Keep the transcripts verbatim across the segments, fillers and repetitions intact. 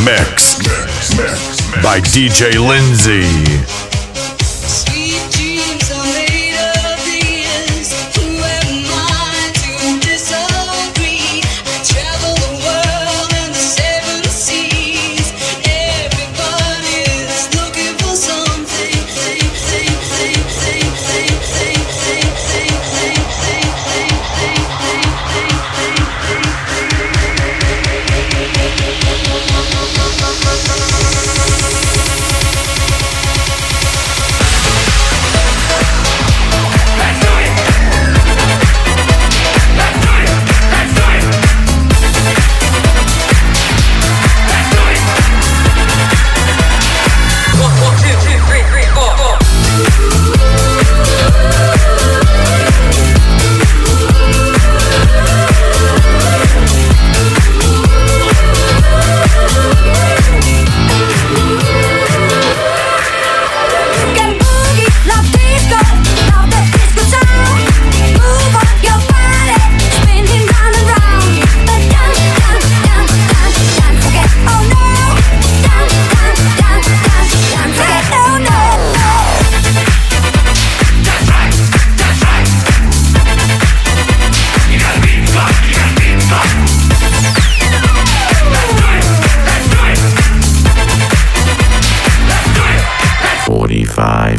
mix by D J Lindsay. forty-five.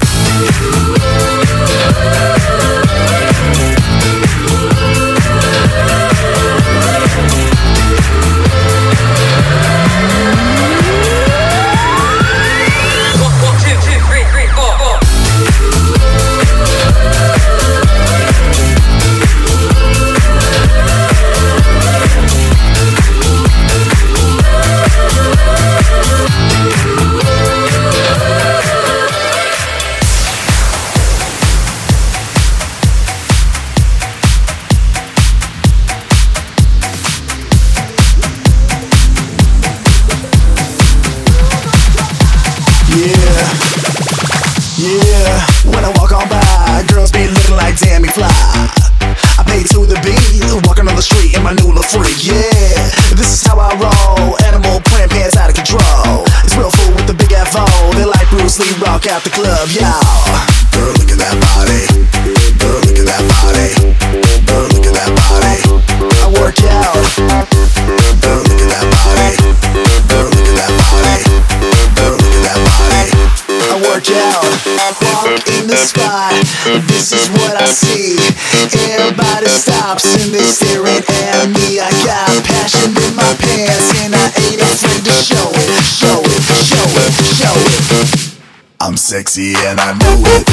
Out the club, y'all. Girl, look at that body. Girl, look at that body. Girl, look at that body. I work out. Girl, look at that body. Girl, look at that body. Girl, look at that body. I work out. Walk in the spot. This is what I see. Everybody stops and they staring at me. I got passion in my pants and I ain't afraid to show it. Show it, show it, show it. I'm sexy and I know it.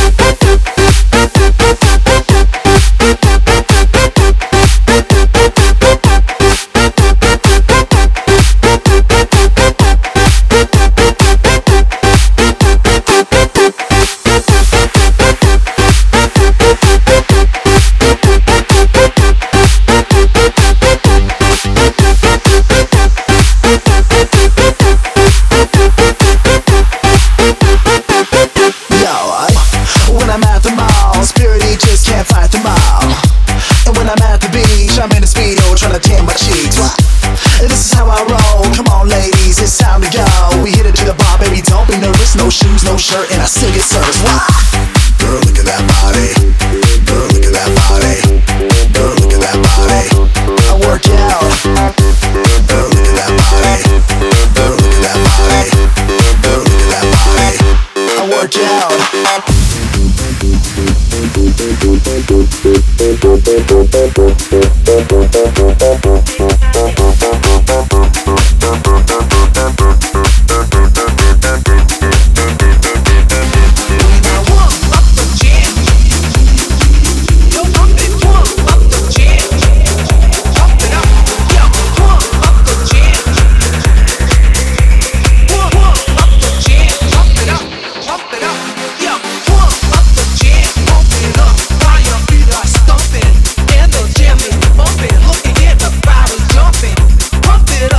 No shoes, no shirt, and I still get service. Why? Girl, look at that body. Girl, look at that body. Girl, look at that body. I work out. Girl, look at that body. Girl, look at that body. Girl, look at that body. I work out. Pump it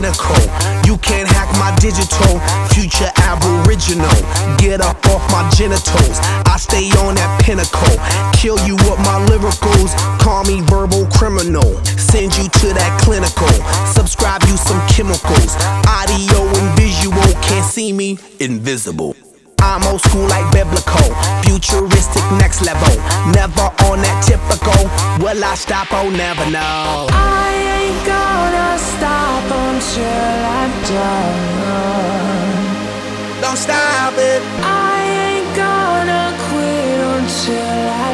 cynical. You can't hack my digital, future aboriginal. Get up off my genitals, I stay on that pinnacle. Kill you with my lyricals, call me verbal criminal. Send you to that clinical, subscribe you some chemicals. Audio and visual, can't see me, invisible. I'm old school like biblical, futuristic next level. Never on that typical, will I stop? Oh, never know. I ain't gonna stop until I'm done. Don't stop it. I ain't gonna quit until I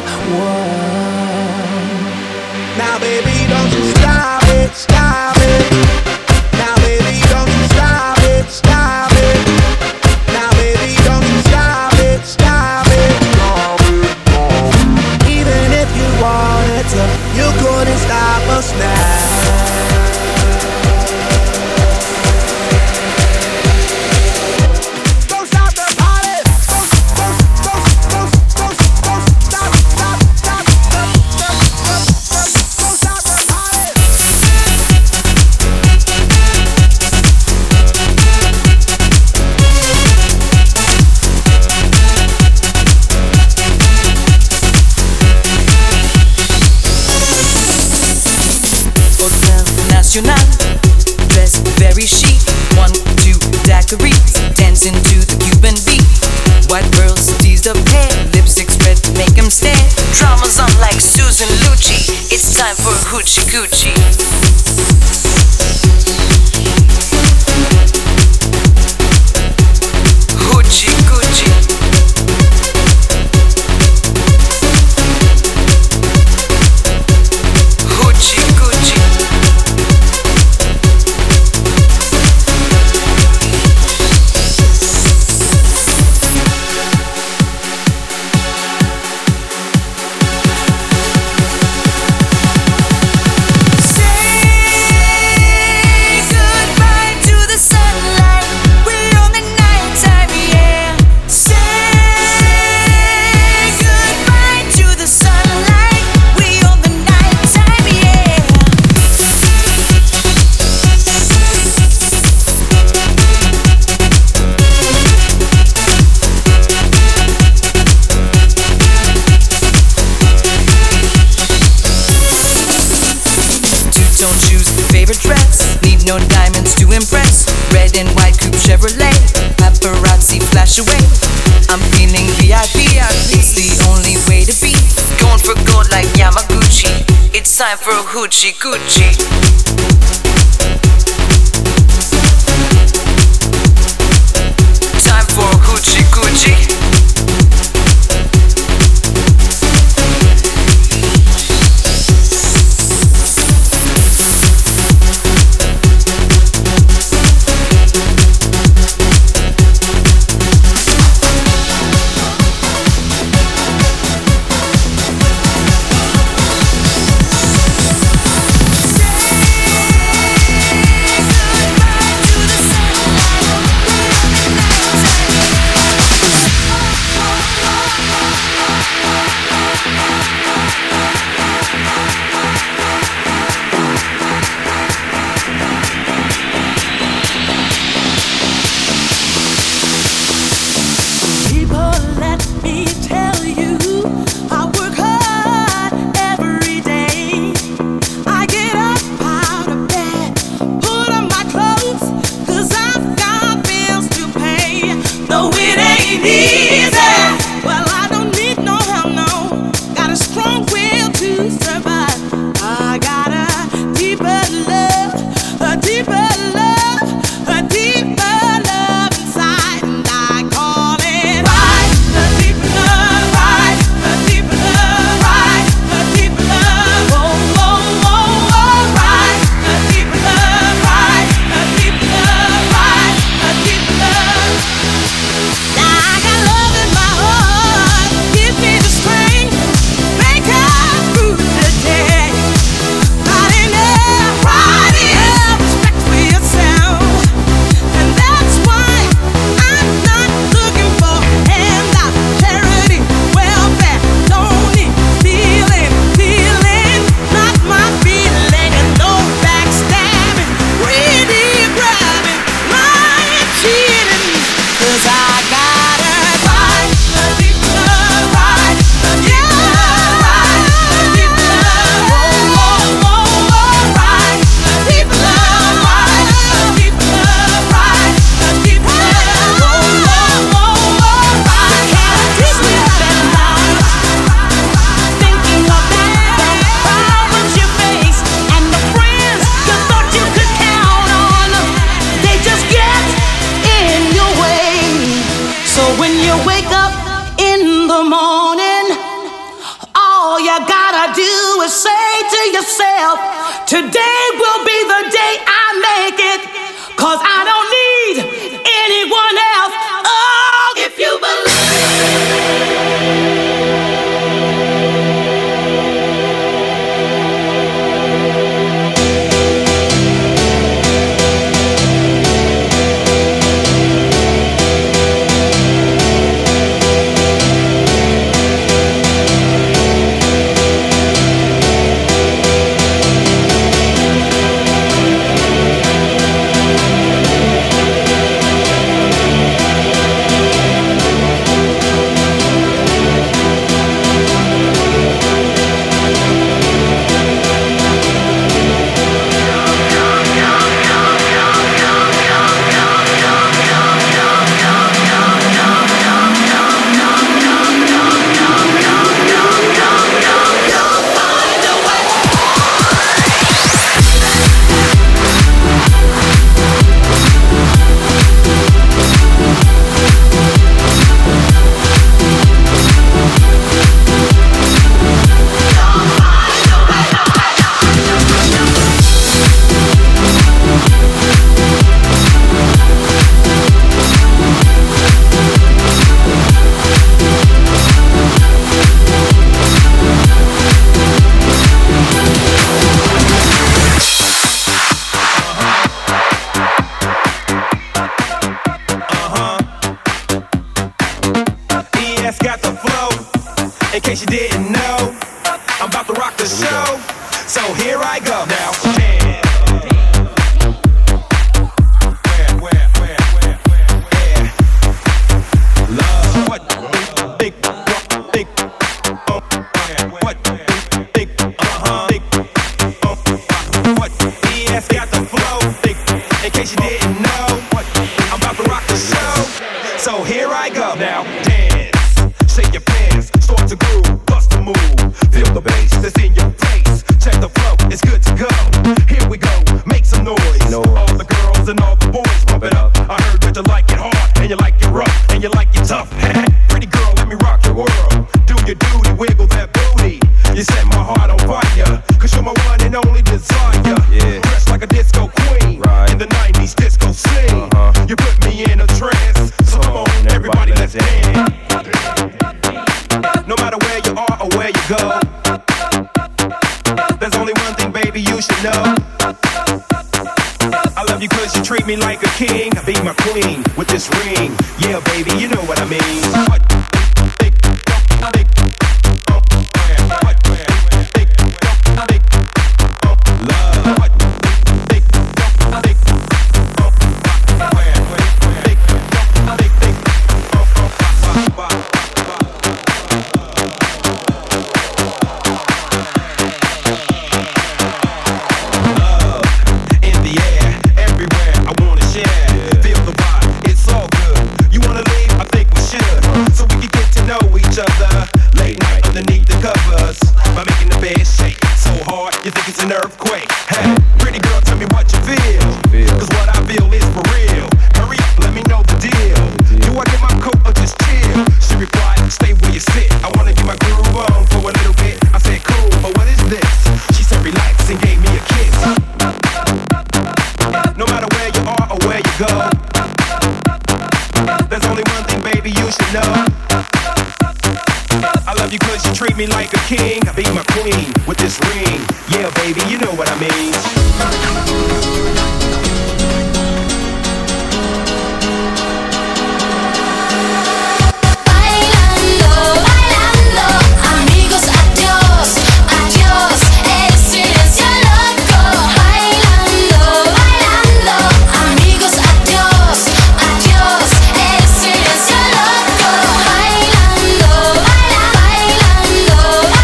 won. Now baby, don't you stop it, stop it. Now baby, don't you stop it, stop it. Now baby, don't you stop it, stop it. Even if you wanted to, you couldn't stop us now. Dressed very chic, one, two daiquiris, dancing to the Cuban beat. White girls tease the hair, lipstick spread, make them stare. Drama's on like Susan Lucci, it's time for hoochie coochie. Hoochie coochie. Hoochie coochie. No diamonds to impress. Red and white coupe Chevrolet. Paparazzi flash away. I'm feeling V I P. It's the only way to be. Going for gold like Yamaguchi. It's time for a hoochie coochie. Time for a hoochie coochie. Say gotta do is say to yourself, today will be the day I make it, 'cause I don't need anyone else. Oh, if you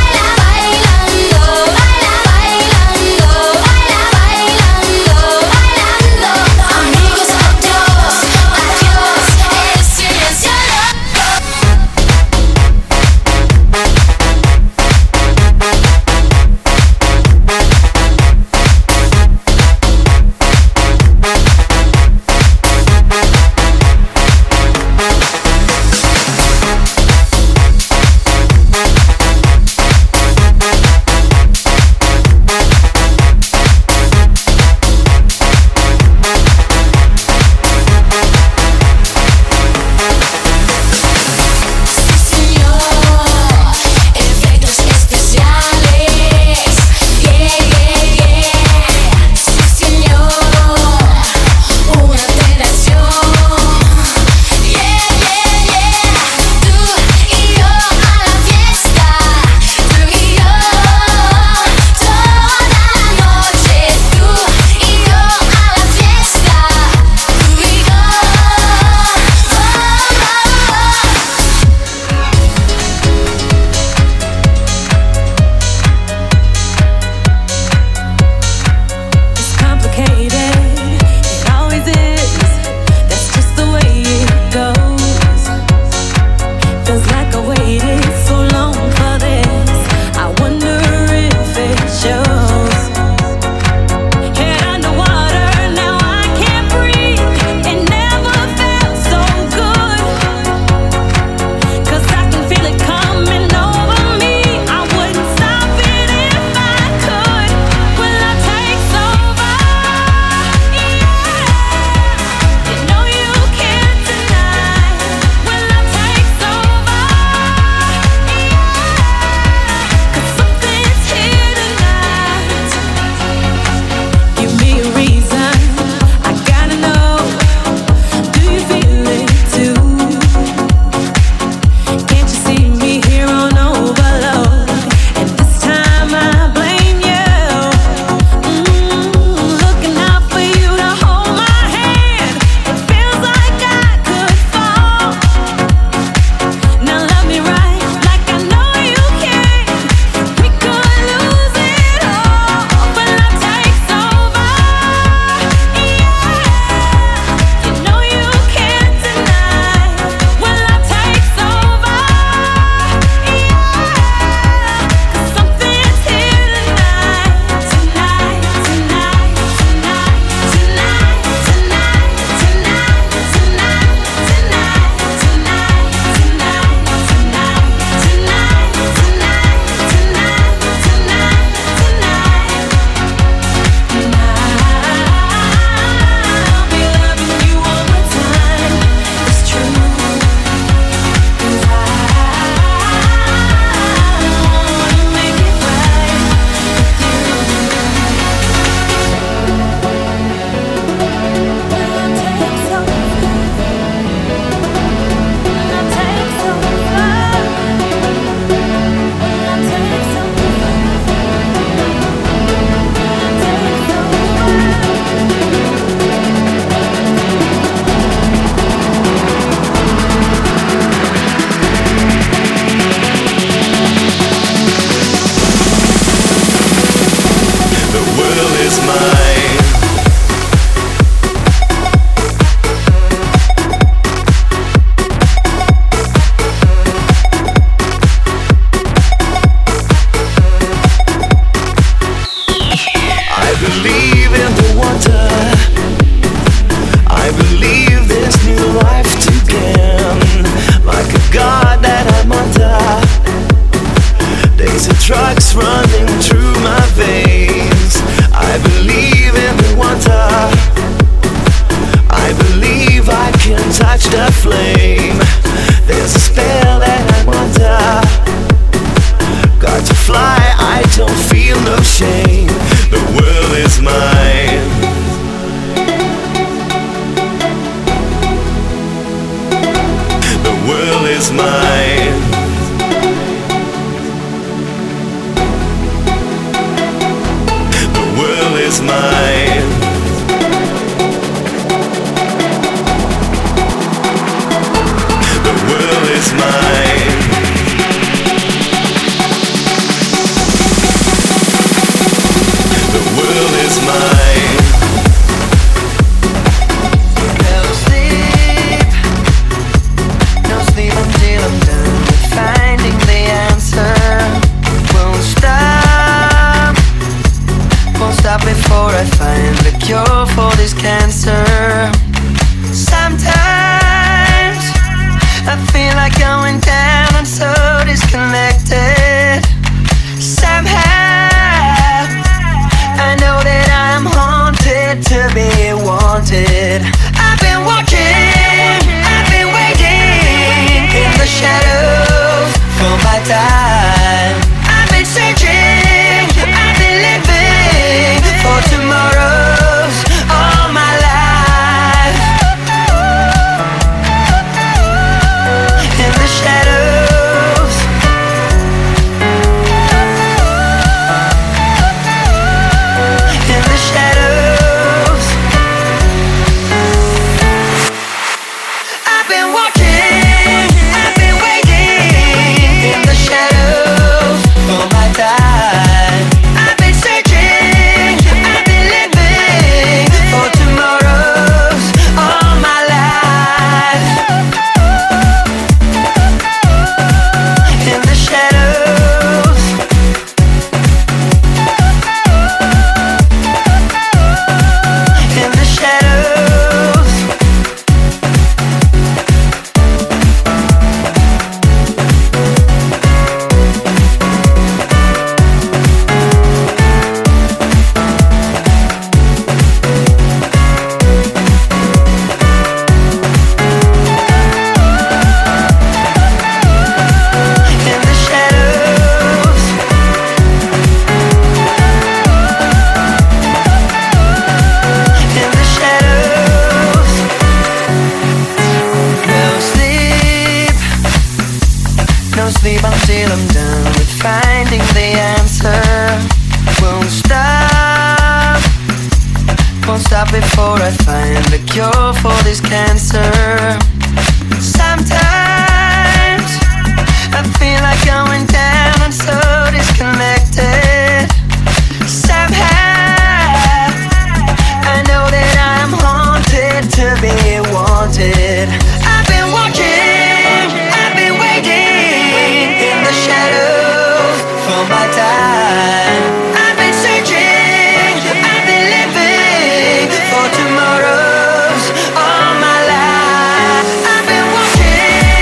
Bailando, bailando, bailando, bailando, bailando. till I'm done with finding the answer. Won't stop, won't stop before I find the cure for this cancer. Sometimes I feel like going down, I'm so disconnected. Somehow I know that I'm haunted to be wanted. I've been watching, I've been waiting in the shadows for my time. I've been searching, I've been living for tomorrows all my life. I've been watching.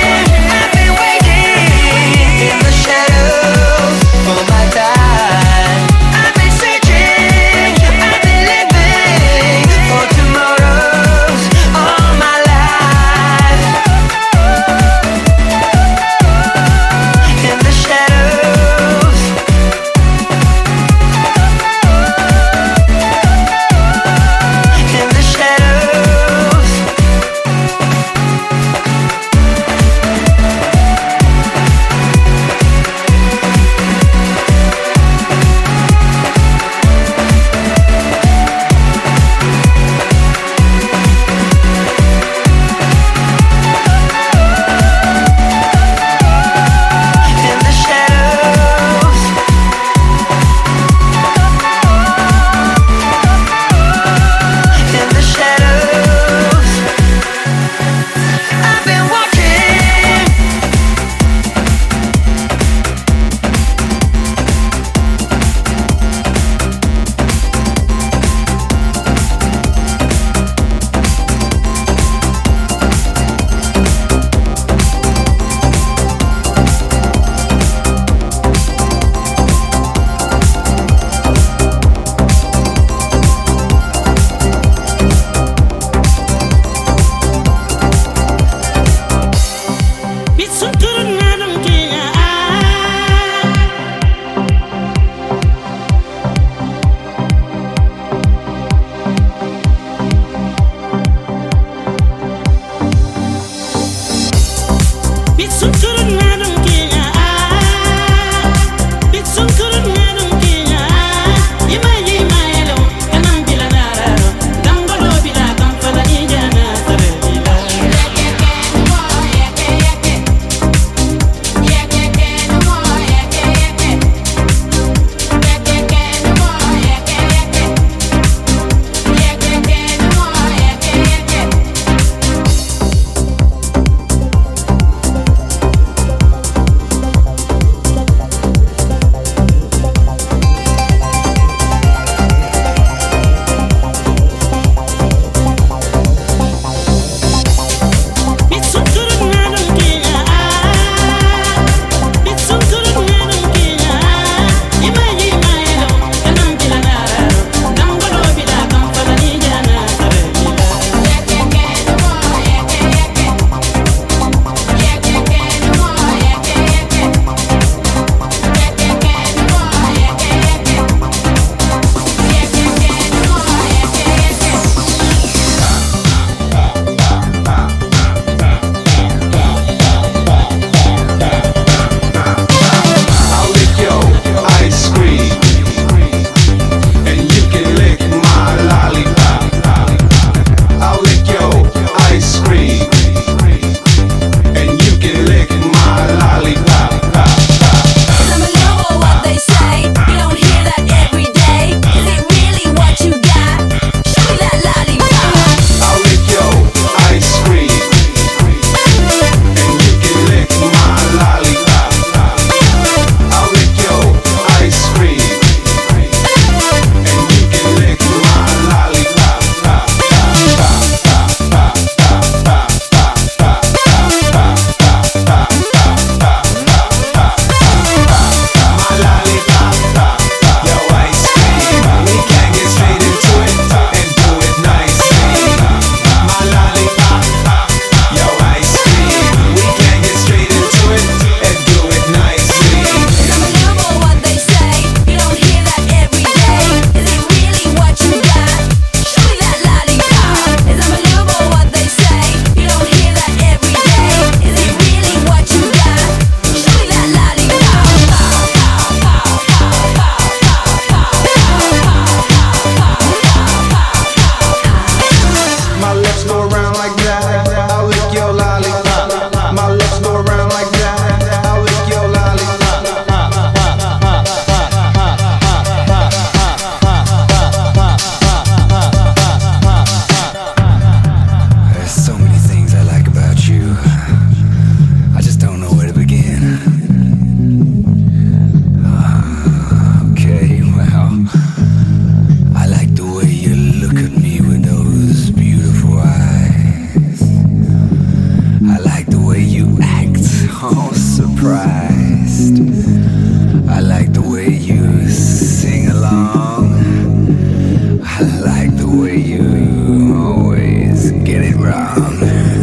best. I like the way you sing along. I like the way you always get it wrong.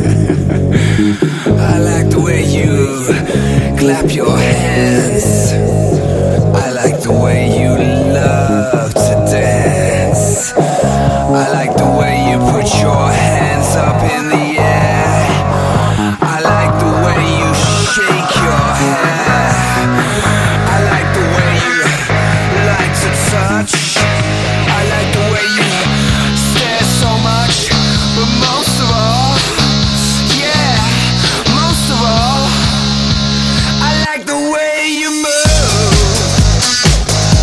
I like the way you clap your hands. I like the way you love to dance. I like the way you put your hands up in the air. I like the way you shake your hair. I like the way you like to touch. I like the way you stare so much. But most of all, yeah, most of all, I like the way you move.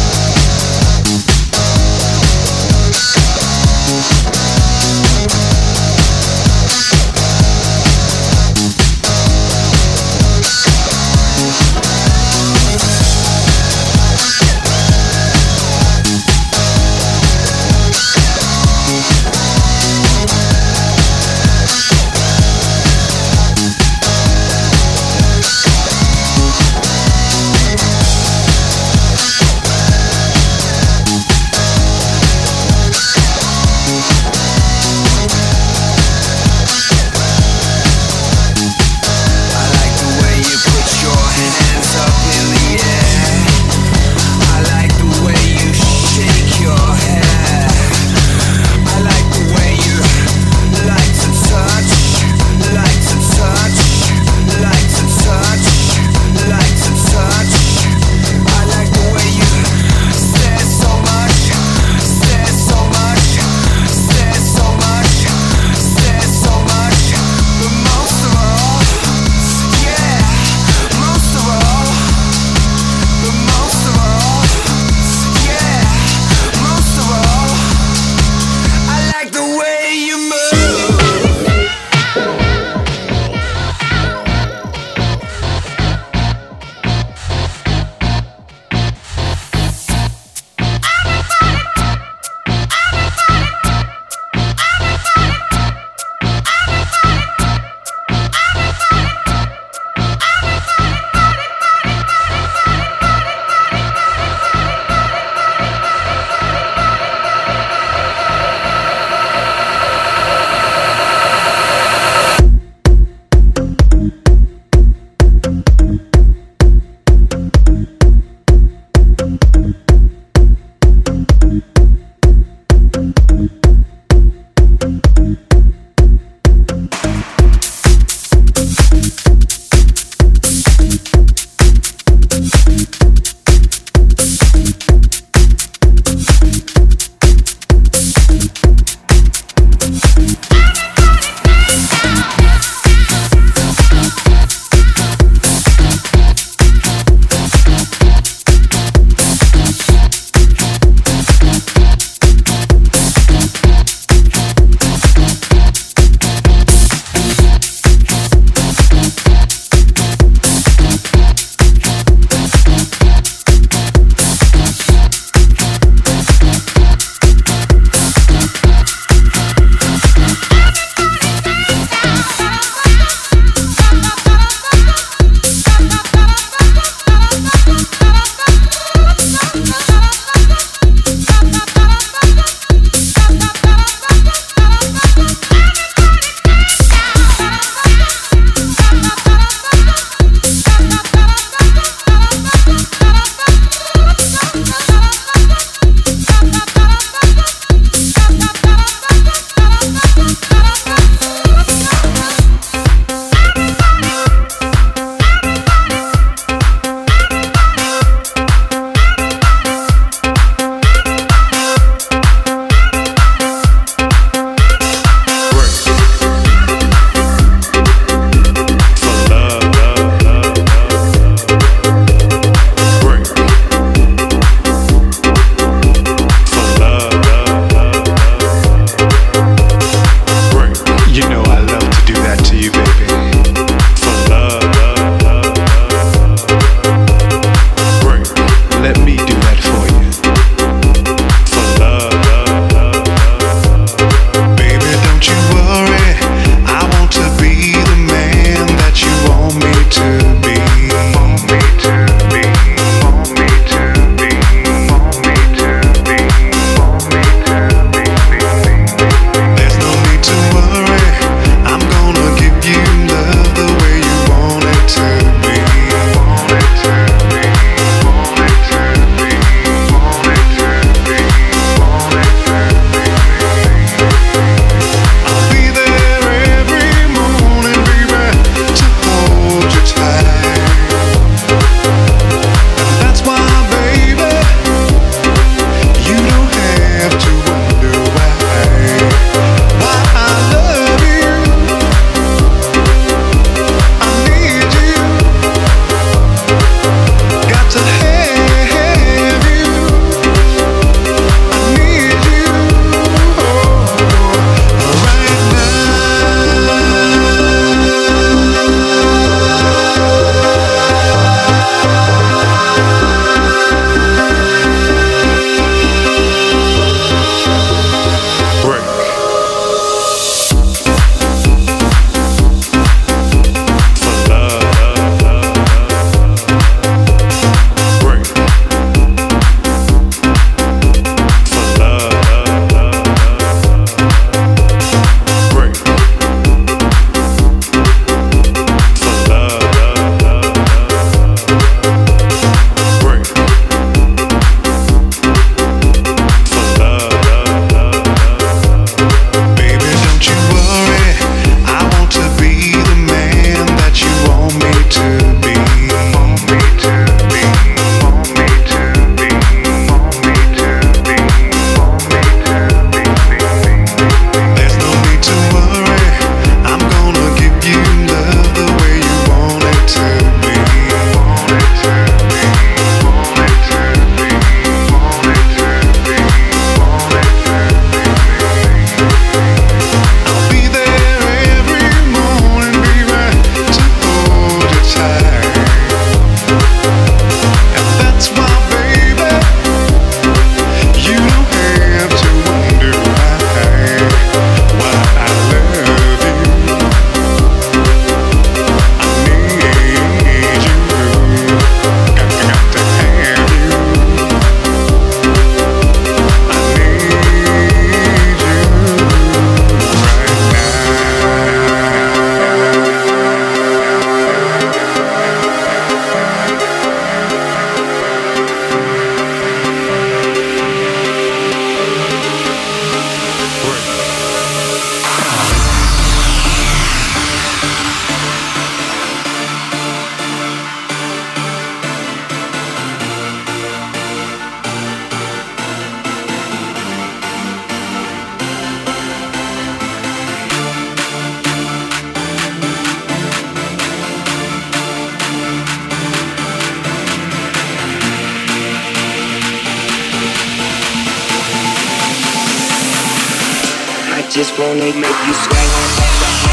just wanna make you sweat.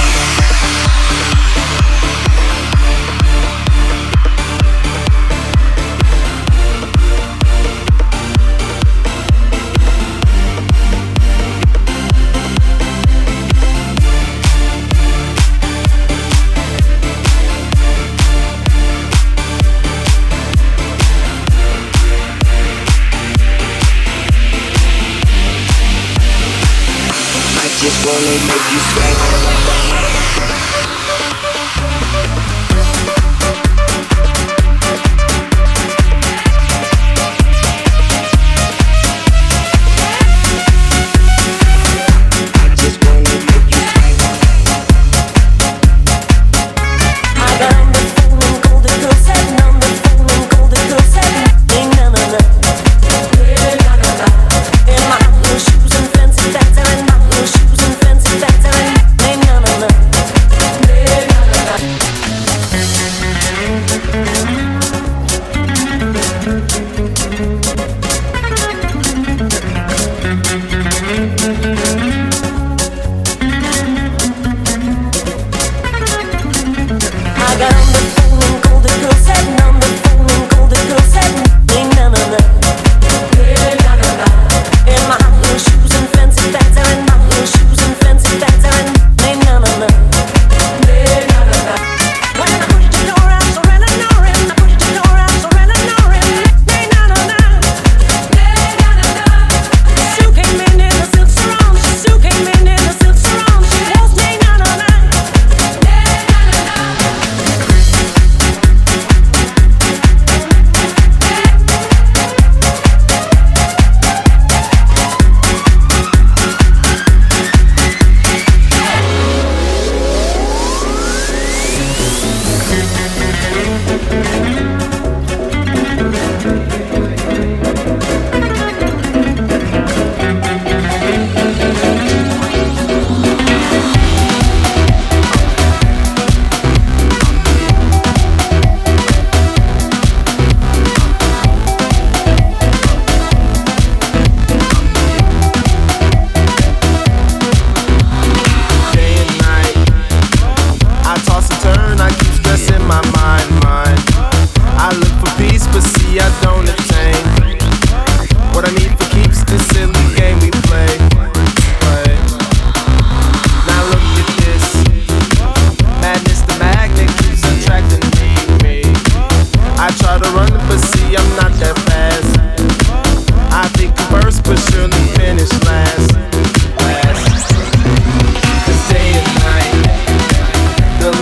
Just wanna make you sweat.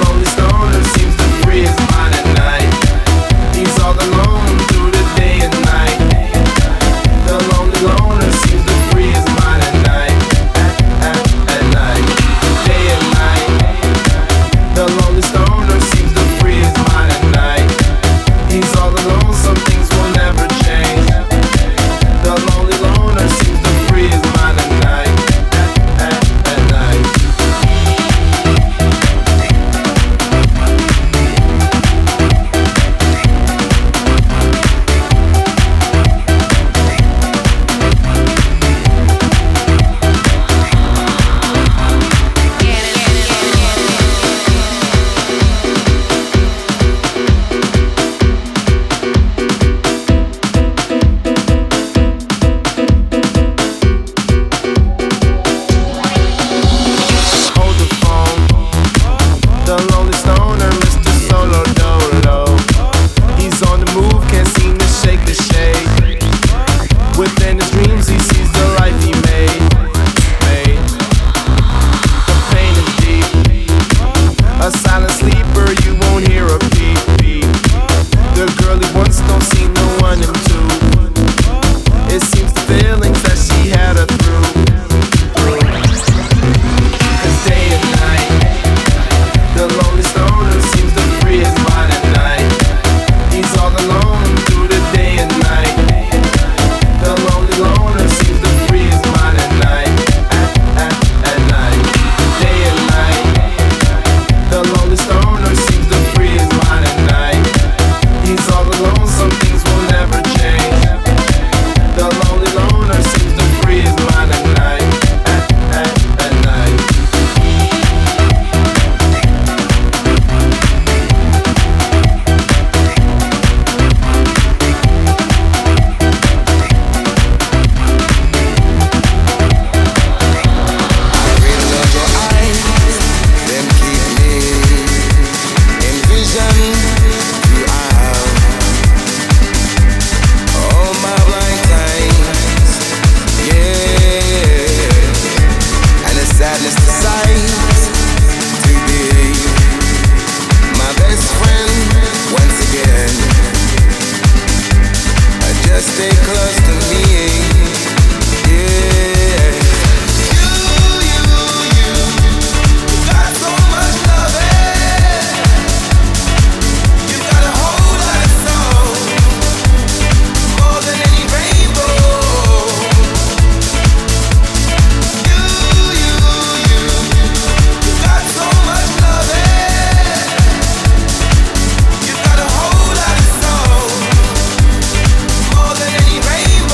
Day and night. stay close to me. Yeah. You, you, you, you got so much loving. You got a whole lot of soul, more than any rainbow. You, you, you, you got so much loving. You got a whole lot of soul, more than any rainbow.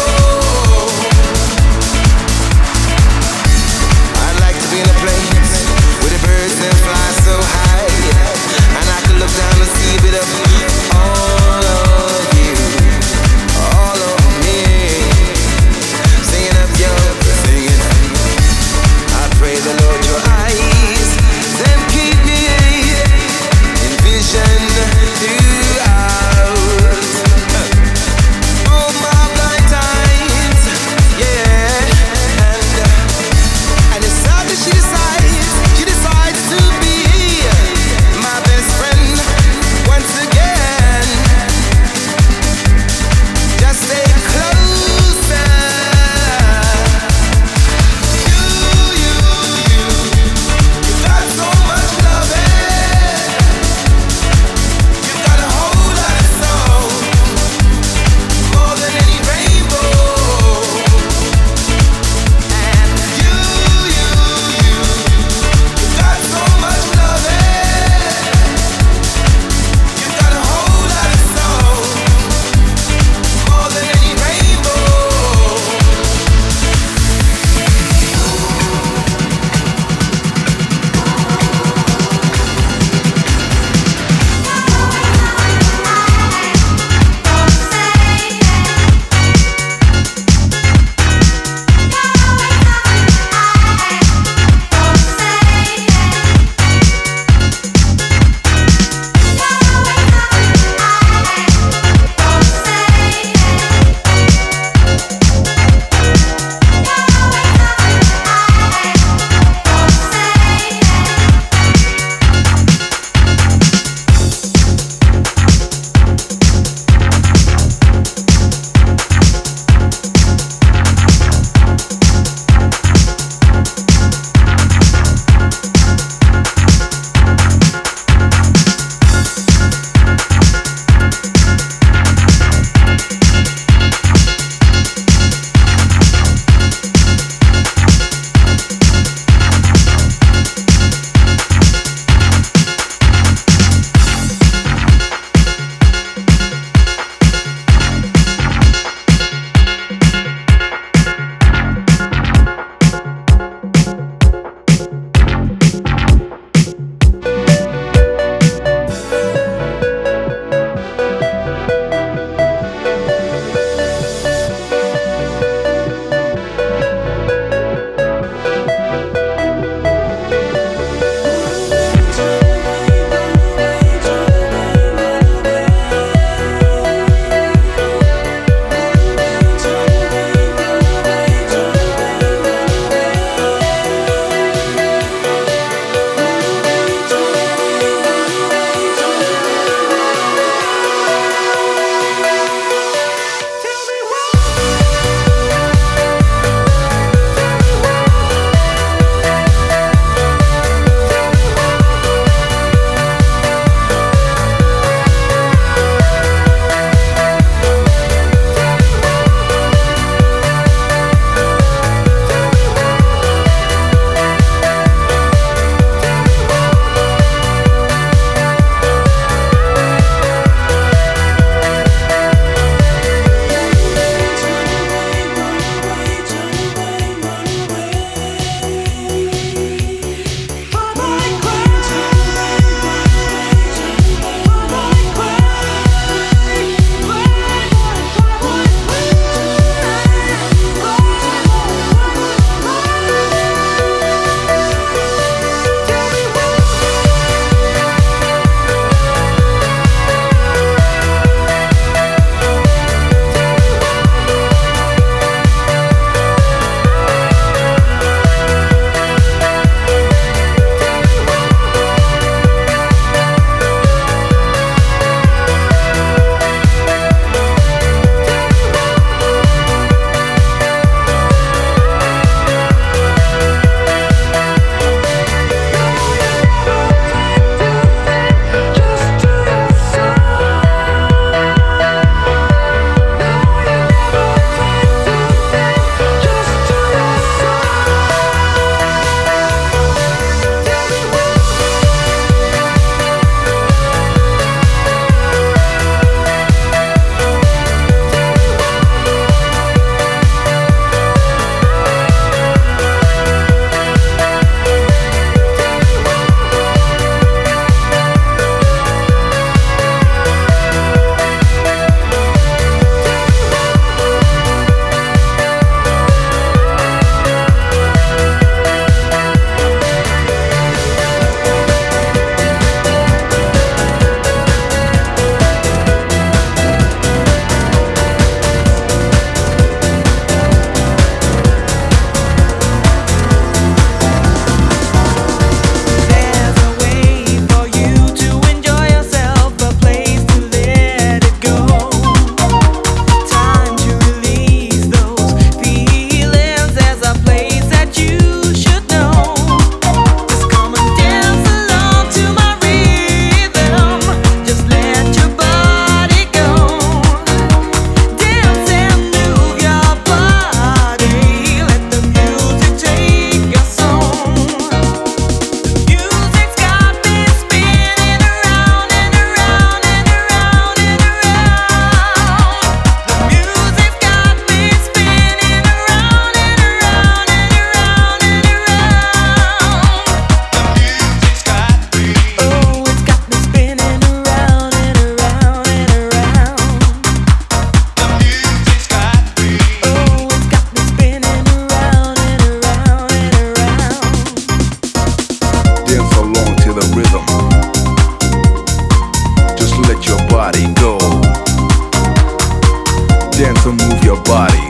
dance and move your body.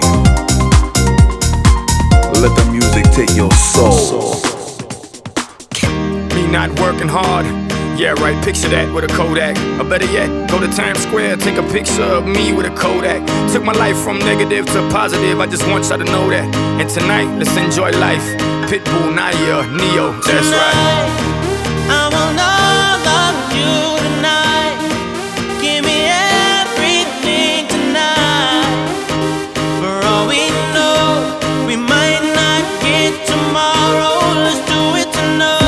Let the music take your soul. Me not working hard. Yeah, right, picture that with a Kodak. Or better yet, go to Times Square, take a picture of me with a Kodak. Took my life from negative to positive, I just want y'all to know that. And tonight, let's enjoy life. Pitbull, Naya, Neo, that's right. I want all of you tonight. Give me everything tonight. For all we know, we might not get tomorrow. Let's do it tonight.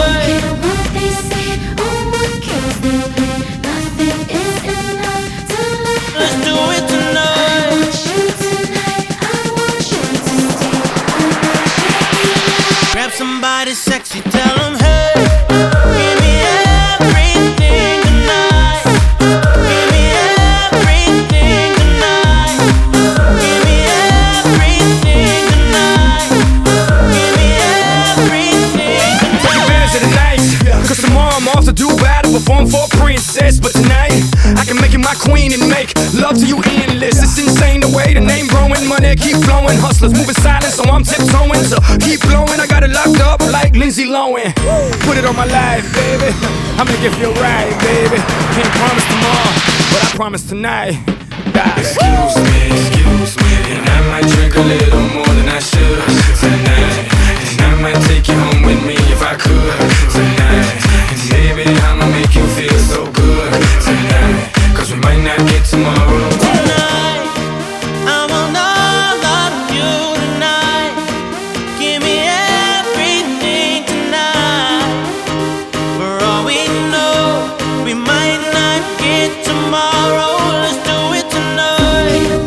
Somebody sexy, tell them, hey, give me everything tonight. Give me everything tonight. Give me everything tonight. Give me everything tonight. Take advantage of the night, cause tomorrow I'm off to Dubai to perform for a princess. But tonight, I can make you my queen and make love to you endless. It's insane the way the name growing, money keep flowing. Hustlers moving silent, so I'm tiptoeing. So keep blowing, I got it locked up like Lindsay Lohan. Put it on my life, baby. I'ma give you a ride, baby. Can't promise tomorrow, but I promise tonight. Die. Excuse me, excuse me, and I might drink a little more than I should tonight. And I might take you home with me if I could tonight. And baby, I'ma make you feel so good tonight. Cause we might not get tomorrow. Tonight, I want all of you tonight. Give me everything tonight. For all we know, we might not get tomorrow. Let's do it tonight.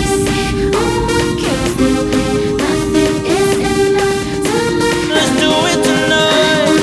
Let's do it tonight.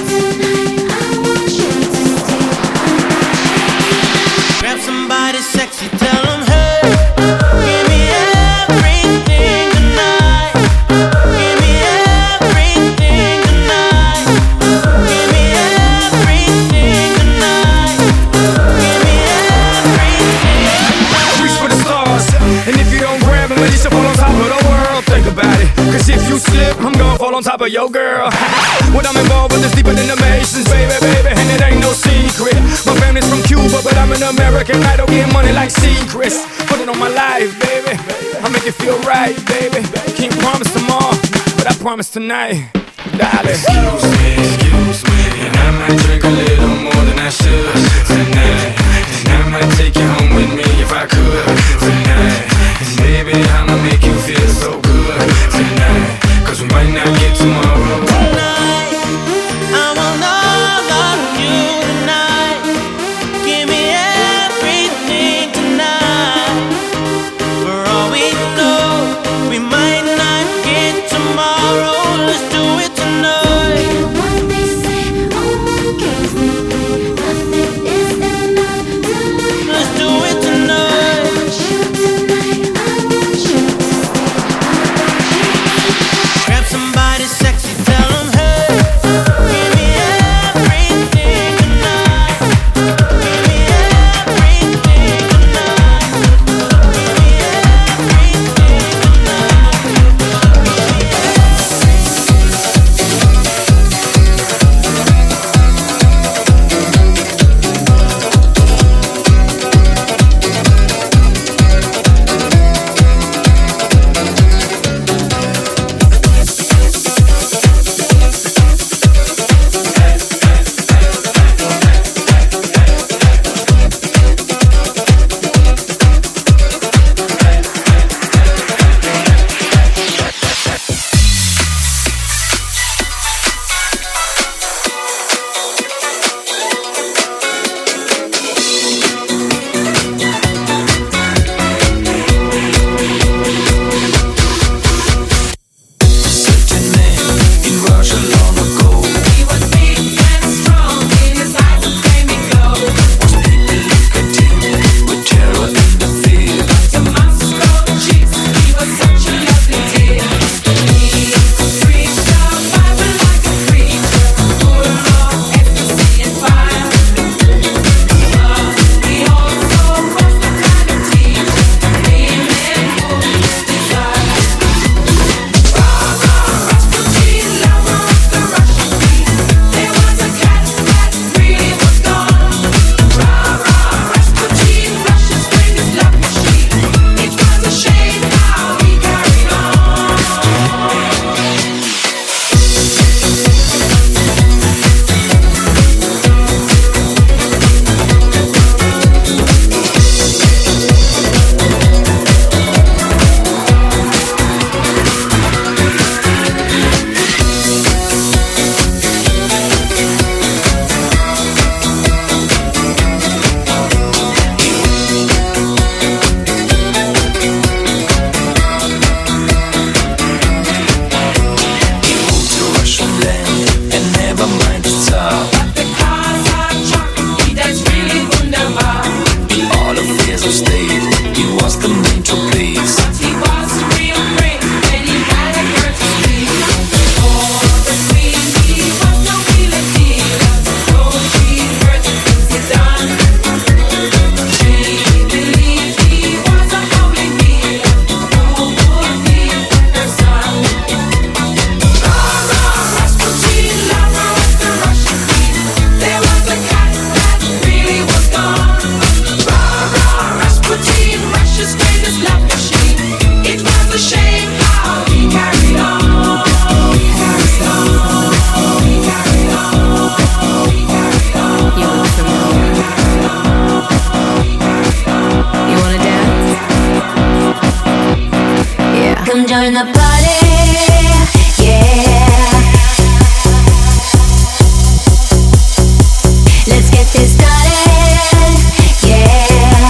Grab somebody sexy, tell them, hey, give me everything tonight. Give me everything tonight. Give me everything tonight. Give me everything. Reach for the stars, and if you don't grab them, at least you fall on top of the world. Think about it, cause if you slip, I'm gonna fall on top of your girl. What I'm involved with is deeper than the Masons, baby, baby, and it ain't no secret. My family's from Cuba, but I'm an American. I don't get money like secrets. Put it on my life, baby. I make it feel right, baby. Can't promise tomorrow, but I promise tonight, darling. Excuse me, excuse me, and I might drink a little more than I should tonight. And I might take you home with me if I could tonight. And baby, I'ma make you feel so good tonight. Cause we might not get tomorrow. Tonight, I want all of you tonight. Give me everything tonight. For all we know, we might not get tomorrow. Let's do it tonight. Let's do it tonight. Come join the party, yeah. Let's get this started, yeah.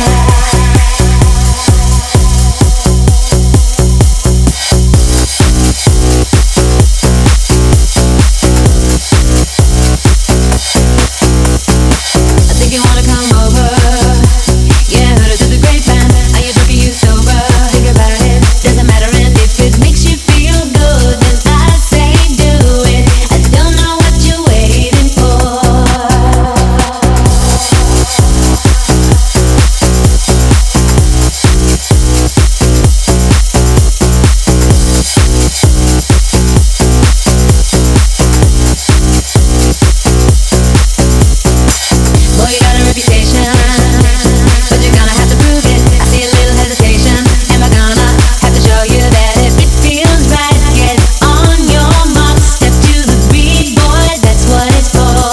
I think you wanna come over, yeah. Heard it through the grapevine. Are you drunk? Are you sober? Think about it. Doesn't matter, and if it makes you feel good, then I say do it. I don't know what you're waiting for. Boy, you got a reputation, but you're gonna have to prove it. I see a little hesitation. Am I gonna have to show you that if it feels right, get on your mark, step to the beat, boy, that's what it's for.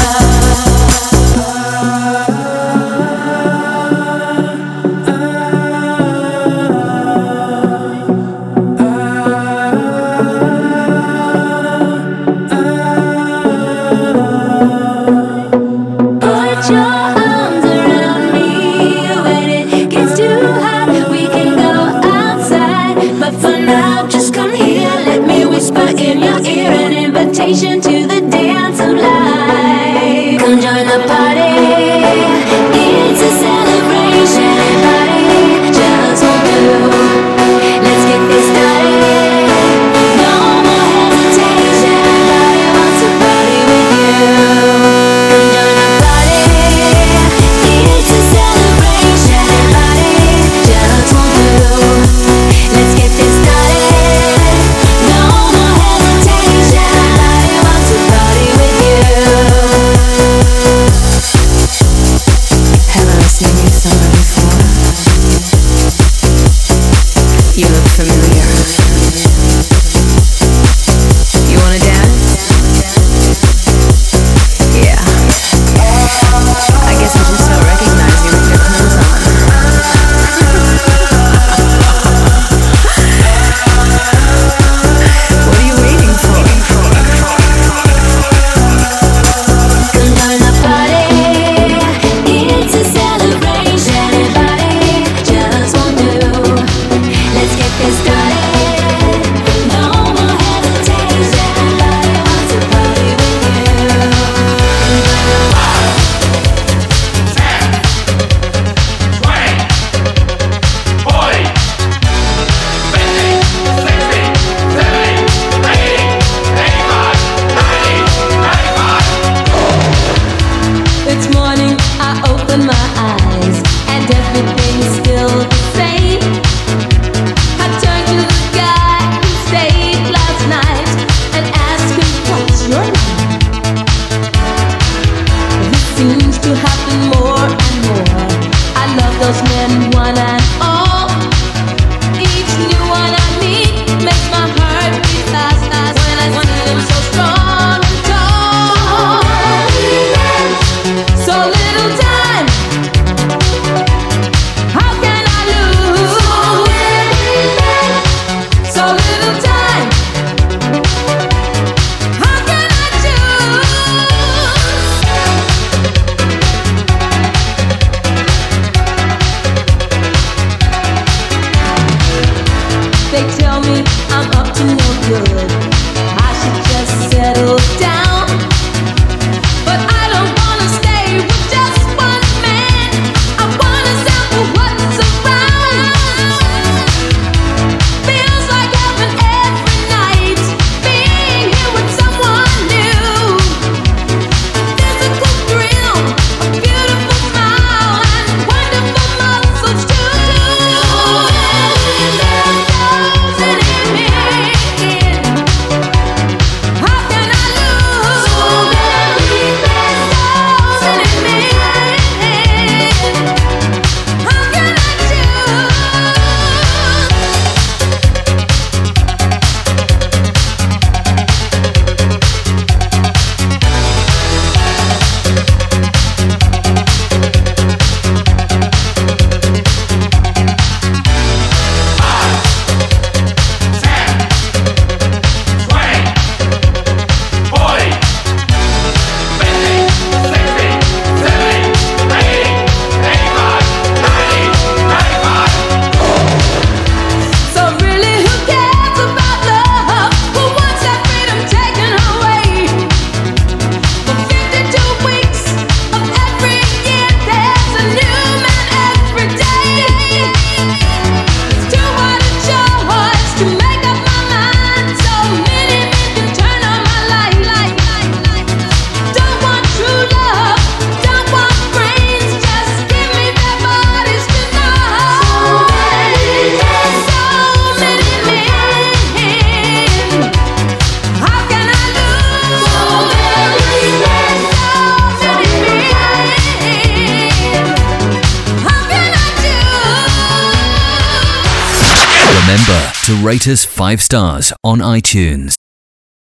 Put your arms around me. When it gets too hot, we can go outside. But for now, just come here. Let me whisper in your ear an invitation to the dance of life. Come join the party. It's a celebration. Everybody just won't do. Let's get this started. No more hesitation. Everybody wants to party with you. Come join the party. It's a celebration. Everybody just won't do. Let's get this started. No more hesitation. Everybody wants to party with you. Have I seen you somewhere before? You look familiar. You wanna dance? Yeah. I guess I just don't recognize you with your clothes on. What are you waiting for? Come join the party. It's a celebration. Everybody just won't do. Let's get this started. No more hesitation. Everybody wants to party with you. It's morning, I open my eyes, and everything's still the same. I turn to the guy who stayed last night and ask him, what's your name? This seems to happen more and more. I love those men, one and all. Each new one I meet makes my heart beat fast, fast when I see them so strong and tall. So little time, how can I lose? So little time, how can I choose? They tell me I'm up to no good. I should just settle down. But I don't wanna stay with just one man. I wanna sample what's around. Feels like heaven every night, being here with someone new. Physical thrill, a beautiful smile, and wonderful muscles too. There are thousands in me. Remember to rate us five stars on iTunes.